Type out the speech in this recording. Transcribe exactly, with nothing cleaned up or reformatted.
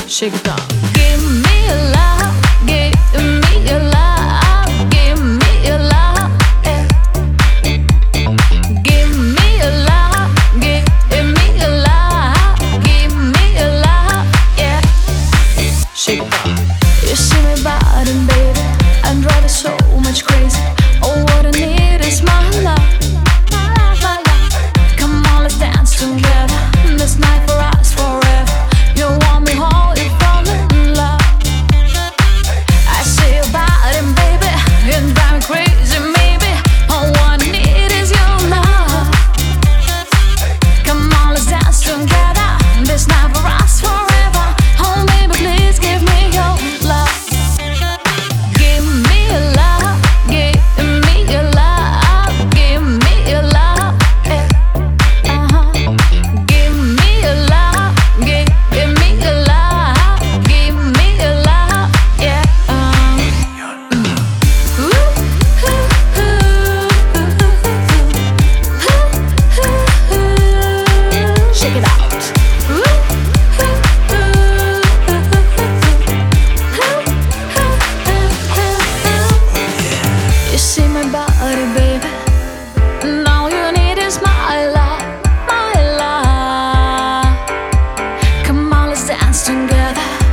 Shake it off. Give me a love, give me a love, give me a love, yeah. Give me a love, give me a love, give me a love, yeah. Shake it off. You see me biting, baby, I'm driving so much crazy. Oh, what I need is my love. Come on, let's dance together. This night for us forever. You want me whole, you fall in love. I see you biting, baby, you drive me crazy, maybe. All what I need is your love. Come on, let's dance together. This night for us forever. Oh, baby, please give me your love. Give me a love, give me a love, give me a love, yeah. Uh-huh. Give me a love, give, give me a love, give me a love, yeah. Um. Ooh, ooh, ooh, ooh, ooh. Shake it out. Ooh, ooh, ooh, ooh. You see my body, baby. Now you need is my love, my love. Come on, let's dance together.